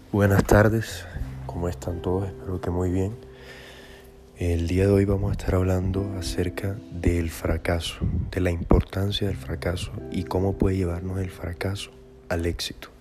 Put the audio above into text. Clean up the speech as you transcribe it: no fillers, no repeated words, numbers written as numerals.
Buenas tardes, ¿cómo están todos? Espero que muy bien. El día de hoy vamos a estar hablando acerca del fracaso, de la importancia del fracaso y cómo puede llevarnos el fracaso al éxito.